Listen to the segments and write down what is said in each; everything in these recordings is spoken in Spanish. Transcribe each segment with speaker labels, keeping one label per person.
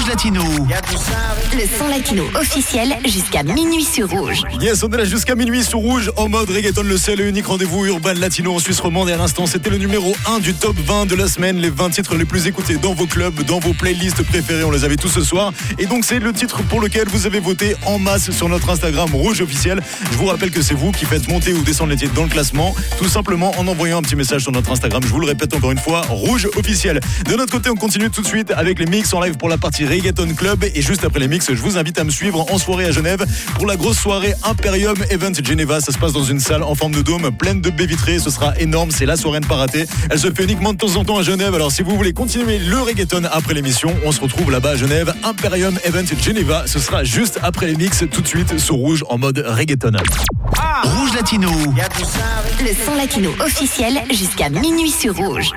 Speaker 1: Latino.
Speaker 2: Le son latino officiel jusqu'à minuit sur Rouge.
Speaker 3: Yes, on est là jusqu'à minuit sur Rouge en mode reggaeton, le seul et unique rendez-vous urbain latino en Suisse romande. Et à l'instant, c'était le numéro 1 du top 20 de la semaine. Les 20 titres les plus écoutés dans vos clubs, dans vos playlists préférées. On les avait tous ce soir. Et donc, c'est le titre pour lequel vous avez voté en masse sur notre Instagram Rouge officiel. Je vous rappelle que c'est vous qui faites monter ou descendre les titres dans le classement, tout simplement en envoyant un petit message sur notre Instagram. Je vous le répète encore une fois, Rouge officiel. De notre côté, on continue tout de suite avec les mix en live pour la partie Reggaeton Club. Et juste après les mix, je vous invite à me suivre en soirée à Genève pour la grosse soirée Imperium Event Geneva. Ça se passe dans une salle en forme de dôme pleine de baies vitrées. Ce sera énorme, c'est la soirée à ne pas rater. Elle se fait uniquement de temps en temps à Genève. Alors si vous voulez continuer le reggaeton après l'émission, on se retrouve là-bas à Genève. Imperium Event Geneva. Ce sera juste après les mix, tout de suite sur Rouge en mode reggaeton.
Speaker 1: Rouge Latino.
Speaker 2: Le son latino officiel jusqu'à minuit sur Rouge.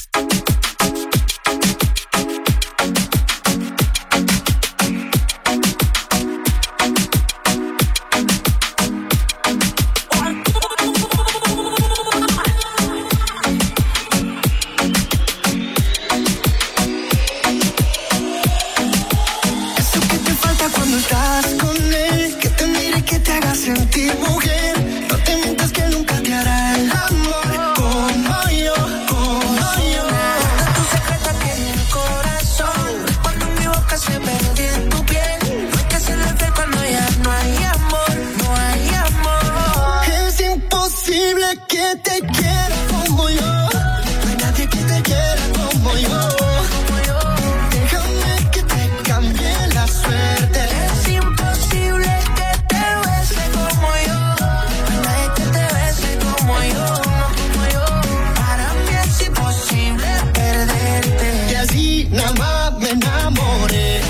Speaker 4: Sentir mujer, no te mientas que nunca te hará el amor como yo, como yo. Tu secreto tiene el corazón, cuando mi boca se mete en tu piel, no hay que hacerle fe cuando ya no hay amor, no hay amor. Es imposible que te quiera como yo, no hay nadie que te quiera como yo. Déjame que te cambie la suerte. Es imposible nada más me enamoré.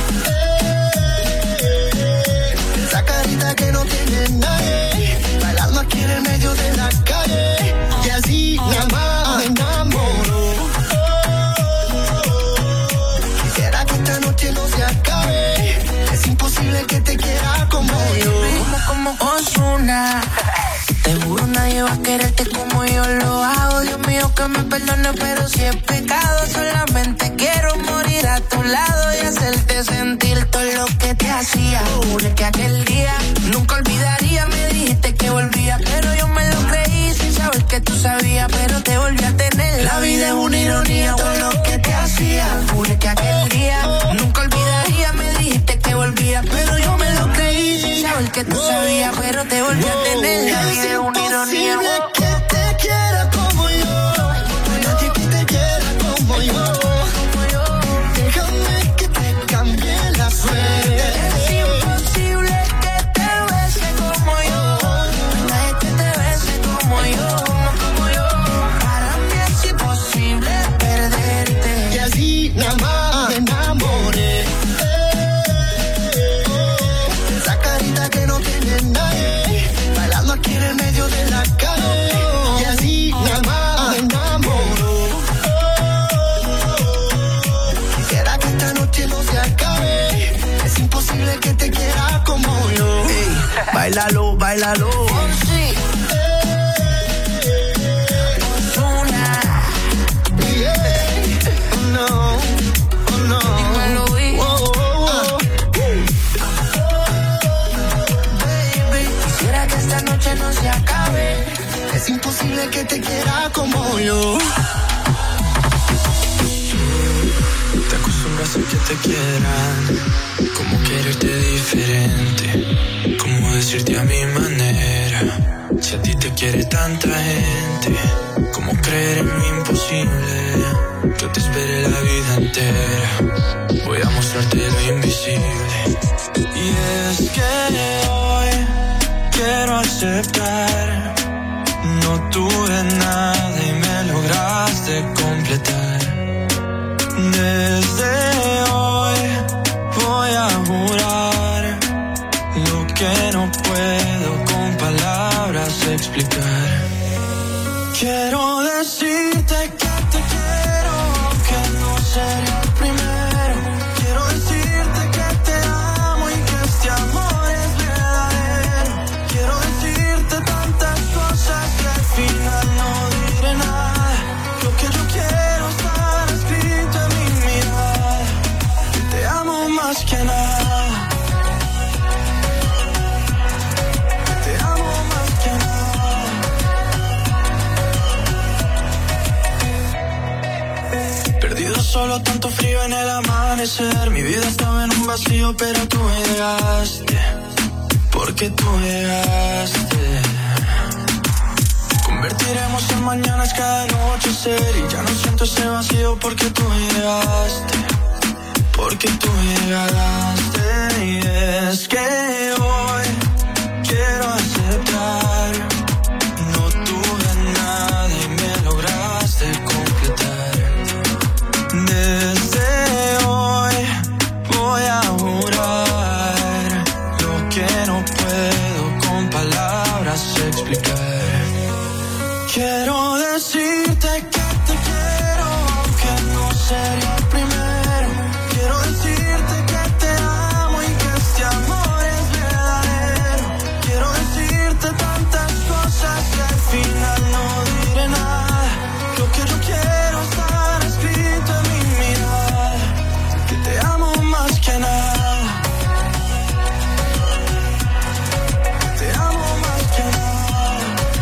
Speaker 4: Esa carita que no tiene nadie, bailando aquí en el medio de la calle. Y así nada más me enamoro. Quisiera que esta noche no se acabe. Es imposible que te quiera como yo. Como Ozuna. Te juro nadie va a quererte como yo lo hago. Dios mío que me perdone, pero si es pecado, solamente quiero morir a tu lado y hacerte sentir todo lo que te hacía. Juré que aquel día nunca olvidaría. Me dijiste que volvía, pero yo me lo creí sin saber que tú sabías, pero te volví a tener. La vida es una ironía, todo lo que te hacía. Juré que aquel día nunca olvidaría. Me dijiste que volvía, pero yo me lo creí sin saber que tú sabías, pero te volví a tener. La vida es una ironía. Que te quiera como yo, no hay nadie que te quiera como yo. Déjame que te cambie la suerte. Es imposible que te bese como yo, no hay nadie que te bese como yo. Para mí es imposible perderte. Y así nada más me enamoré. Esa carita que no tiene nadie, bailando aquí en el medio de la calle. Y así nada más me enamoro. Quisiera que esta noche no se acabe. Es imposible que te quiera como yo. Hey, báilalo, báilalo. Sí. No se acabe. Es imposible que te quiera como yo.
Speaker 5: Te acostumbras a que te quieran, como quererte diferente, como decirte a mi manera. Si a ti te quiere tanta gente, como creer en lo imposible. Yo te esperé la vida entera, voy a mostrarte lo invisible. Y es que hoy quiero aceptar, no tuve nada y me lograste completar. Desde hoy voy a jurar lo que no puedo con palabras explicar. Quiero decirte que te quiero, aunque no seré el primero. Quiero decirte que te amo y que este amor es verdadero. Quiero decirte tantas cosas que al final no diré nada. Lo que yo quiero está escrito en mi mirada. Te amo más Perdido solo, tanto frío en el amanecer. Mi vida estaba en un vacío, pero tú llegaste. Porque tú llegaste. Convertiremos en mañanas cada anochecer. Y ya no siento ese vacío porque tú llegaste. Porque tú llegaste. Y es que hoy quiero aceptar. No tuve nada y me lograste completar. Desde hoy voy a jurar lo que no puedo con palabras explicar. Quiero decirte que te quiero, aunque no sería el primero. Quiero decirte que te amo y que este amor es verdadero. Quiero decirte tantas cosas que al final no diré nada. Lo que yo quiero estar escrito en mi mirada, que te amo más que nada. Te amo más que nada.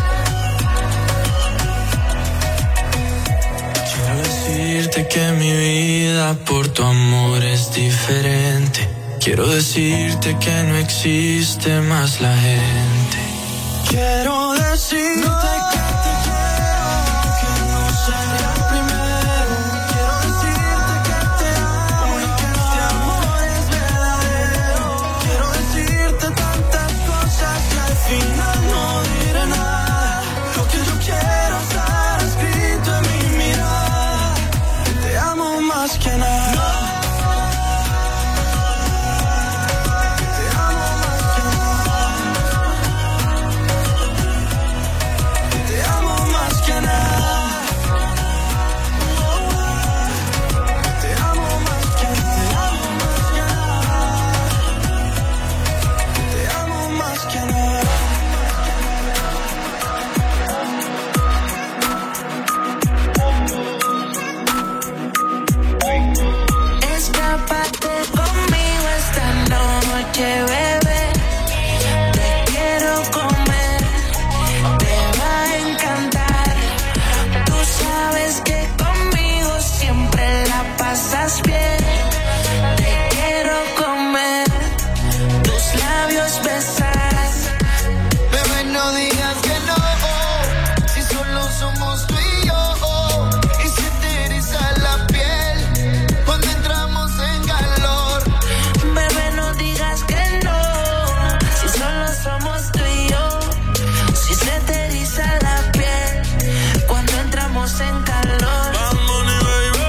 Speaker 5: Quiero decirte que mi vida por tu amor es diferente. Quiero decirte que no existe más la gente. Quiero decirte que te quiero, aunque no sería el primero. Quiero decirte que te amo y que este amor es verdadero. Quiero decirte tantas cosas que al final no diré nada. Lo que yo quiero estar escrito en mi mirada, que te amo más que nada.
Speaker 6: Bebé, te quiero comer, te va a encantar. Tú sabes que conmigo siempre la pasas bien. Te quiero comer, tus labios besar.
Speaker 4: Bebé, no digas que no, si solo somos tú y yo. Y si te eriza la piel cuando entramos en calor.
Speaker 6: Bebé, no digas que no, si solo somos tú y yo. Si se te eriza la piel cuando entramos en calor.
Speaker 5: Bad Bunny, baby.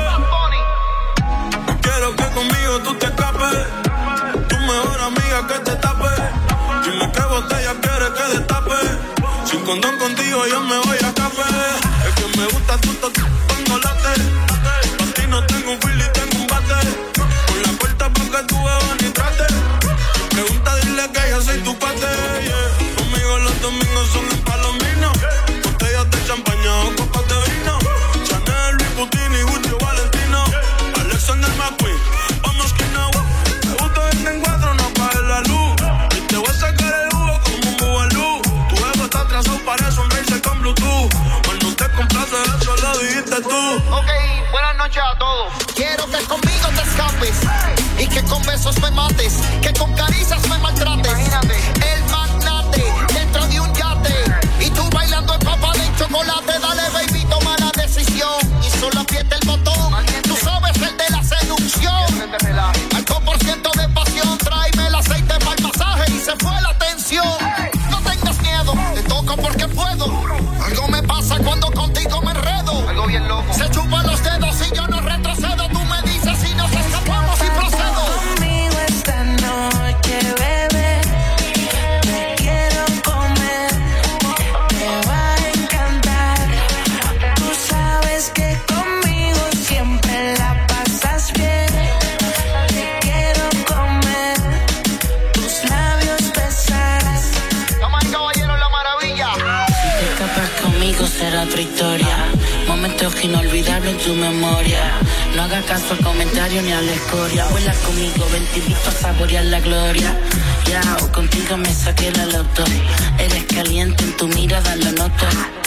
Speaker 5: Quiero que conmigo tú te escapes. Tu mejor amiga que te tape. Dime qué botella quieres que destape. Sin condón contigo yo me voy a escape. Es que me gusta tu toque cuando late. Pa' ti no tengo un feel y tengo un bate. Con la puerta pa' que tú bebas ni trate. Pregunta, dile que yo soy tu pate, yeah. Conmigo los domingos son en Palomino. Botellas de champaña o copas de vino. Chanel, Louis Vuitton y Gucci Valentino. Alexander McQueen, vamos que no. Me gusta verte en cuatro, no apagues la luz. Y te voy a sacar el jugo como un bubalú. Tu ego está atrasado, parece un racer con Bluetooth. Cuando te complace eso lo dijiste tú.
Speaker 4: Ok, buenas noches a todos. Quiero que conmigo te escapes y que con besos me mates, que con caricias me maltrates. Imagínate. El magnate dentro de un yate y tú bailando empapada en chocolate. Dale, baby, toma la decisión y solo aprieta el botón. Tú sabes, el de la seducción. Alto por ciento de pasión, tráeme el aceite para el masaje y se fue la tensión. No tengas miedo, te toco porque puedo. Algo me pasa cuando contigo me enredo. Algo bien loco. Se chupan los dedos y yo no retrocedo. Tú me dices si nos escapamos y procedo.
Speaker 6: Conmigo esta noche, bebé, te quiero comer, te va a encantar. Tú sabes que conmigo siempre la pasas bien. Te quiero comer, tus labios besar.
Speaker 4: Toma el caballero, la maravilla.
Speaker 6: Si te escapas conmigo será otra historia. Momentos inolvidables en tu memoria. No hagas caso al comentario ni a la escoria. Vuela conmigo, ven te invito a saborear la gloria. Ya, contigo me saqué la loto. Eres caliente, en tu mirada lo noto.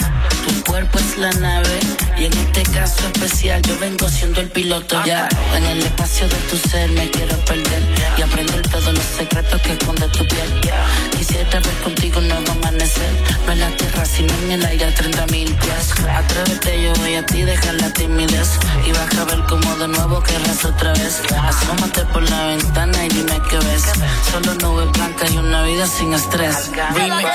Speaker 6: Tu cuerpo es la nave y en este caso especial yo vengo siendo el piloto. Ya, en el espacio de tu ser me quiero perder y aprender todos los secretos que esconde tu piel. Quisiera ver contigo un nuevo amanecer, no en la tierra sino en el aire a 30.000 pies. Atrévete, yo voy a ti, deja la timidez y vas a ver cómo de nuevo querrás otra vez. Asómate por la ventana y dime qué ves. Solo nubes blancas y una vida sin estrés. Remix.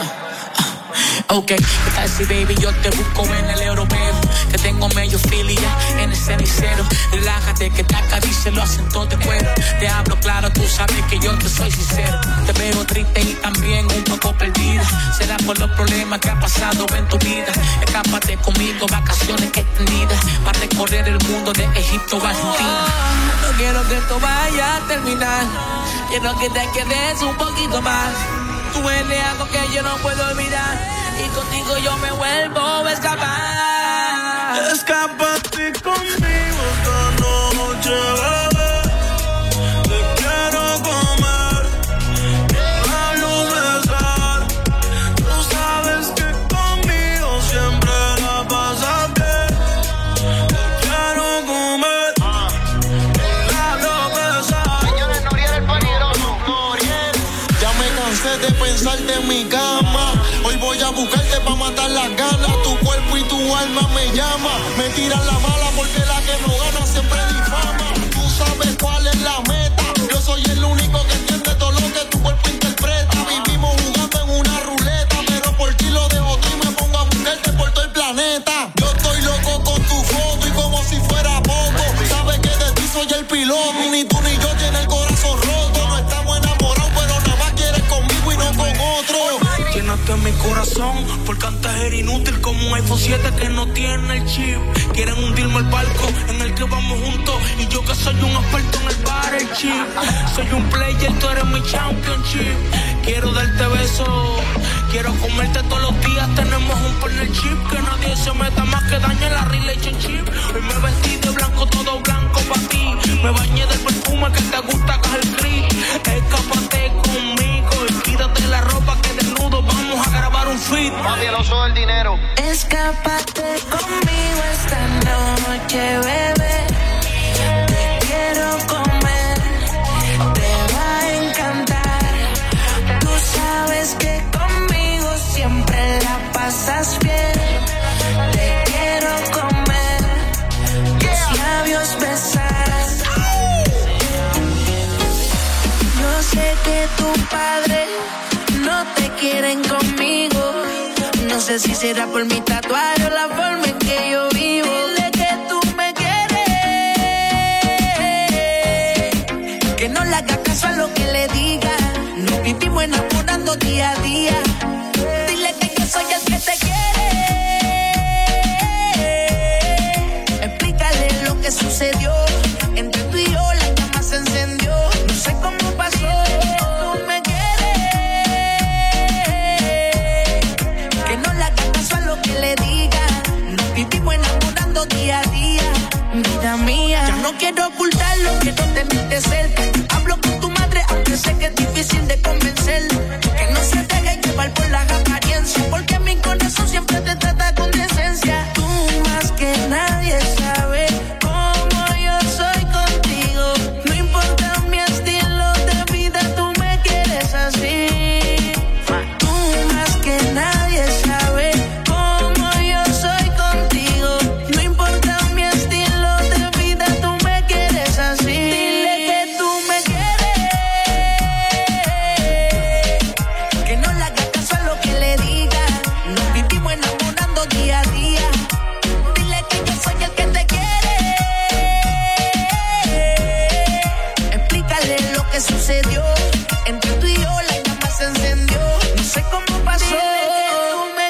Speaker 7: Ok, ¿qué tal si baby yo te busco en el europeo? Que tengo medio filia en el cenicero. Relájate que te acaricie los acentos de cuero. Te hablo claro, tú sabes que yo te soy sincero. Te veo triste y también un poco perdida. Será por los problemas que ha pasado en tu vida. Escápate conmigo, vacaciones extendidas, para recorrer el mundo de Egipto a Argentina. No quiero que esto vaya a terminar, quiero que te quedes un poquito más. Tú eres algo que yo no puedo olvidar y contigo yo me vuelvo a escapar.
Speaker 5: Escápate conmigo esta noche, bebé. Te quiero comer, quiero besar. Tú sabes que conmigo siempre la pasas bien. Te quiero comer, quiero besar.
Speaker 8: Señores, Noriel el peligroso. Noriel.
Speaker 9: Ya me cansé de pensarte en mi cama. Hoy voy a buscarte pa' matar las ganas. Tu cuerpo y tu alma me llama. Me tiran la mala porque la que no gana siempre difama. Tú sabes cuál es la meta. Yo soy el único que entiende todo lo que tu cuerpo interpreta. Vivimos jugando en una ruleta, pero por ti lo dejo todo y me pongo a buscarte por todo el planeta. Yo estoy loco con tu foto y como si fuera poco. Sabes que de ti soy el piloto. Ni tú ni yo tiene el corazón roto. No estamos enamorados, pero nada más quieres conmigo y no con otro.
Speaker 7: Llénate mi corazón, porque antes era inútil como un iPhone 7 que no tiene el chip. Quieren hundirme el barco en el que vamos juntos y yo que soy un experto en el bar, el chip. Soy un player, tú eres mi championship. Quiero darte besos, quiero comerte todos los días. Tenemos un partnership que nadie se meta más que dañe la relationship. Hoy me vestí de blanco, todo blanco para ti. Me bañé del perfume que te gusta, que es el gris. Escápate conmigo y quítate la ropa que desnudo vamos a grabar un feed.
Speaker 8: Papi, el oso del dinero.
Speaker 6: Escápate conmigo esta noche, bebé. Te quiero comer, te va a encantar. Tú sabes que conmigo siempre la pasas bien. Te quiero comer, tus labios besar. Yo sé que tu padre no te quieren conmigo. No sé si será por mi tatuaje o la forma en que yo vivo. Dile que tú me quieres, que no le hagas caso a lo que le diga. Nos vivimos enamorando día a día. Dile que yo soy el que te quiere. Explícale lo que sucedió. Entre tú y yo la llama se encendió. No sé cómo pasó. Tú me que le diga, nos vivimos enamorando día a día, vida mía. Ya no quiero ocultarlo, quiero tenerte cerca. Hablo con tu madre, aunque sé que es difícil de convencer. Que no se deje llevar por las apariencias, porque mi corazón siempre te trata con decencia. Tú más que nadie sabes cómo yo soy contigo. No importa mi estilo de vida, tú me quieres así. Tú más que nadie sabes. Sucedió entre tú y yo, la llama se encendió. No sé cómo pasó. Tú me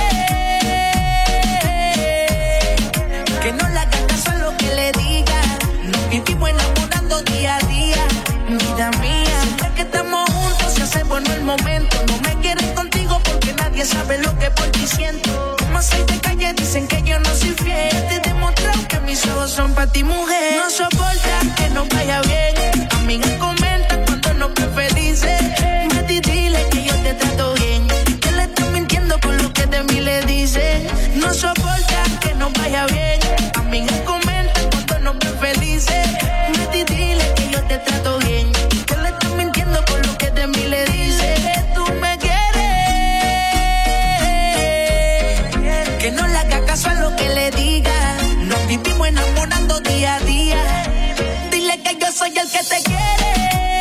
Speaker 6: quieres, que no le hagas caso a lo que le diga. Nos vivimos enamorando día a día, vida mía. Siempre que estamos juntos se hace bueno el momento. No me quieren contigo porque nadie sabe lo que por ti siento. Como soy de calle dicen que yo no soy fiel. Te he demostrado que mis ojos son para ti, mujer. No soporta que no vaya bien. Amiga, comenta cuando no estés felices. Mati, dile que yo te trato bien. Que le estás mintiendo por lo que de mí le dices.
Speaker 10: dice. Vete y dile que yo te trato bien, que le estás mintiendo por lo que de mí le dice. Que tú me quieres, que no le haga caso a lo que le diga. Nos vivimos enamorando día a día. Dile que yo soy el que te quiere.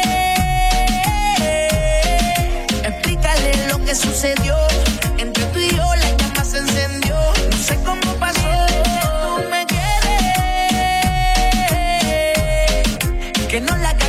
Speaker 10: Explícale lo que sucedió. Entre tú y yo la llama se encendió. No sé cómo pasó. Tú me quieres, que no la